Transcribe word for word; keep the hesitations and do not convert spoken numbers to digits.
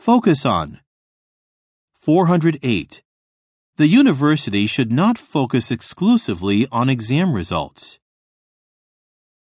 Focus on. four hundred eight. The university should not focus exclusively on exam results.